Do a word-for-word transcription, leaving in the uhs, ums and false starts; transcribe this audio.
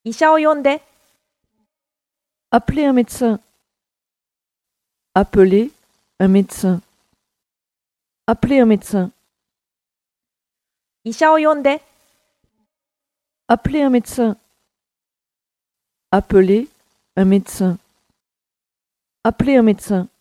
医者を呼んで。 Appelez un médecin. Appelez un médecin. Appelez un médecin. 医者を呼んで。 Appelez un médecin. Appelez un médecin. Appelez un médecin.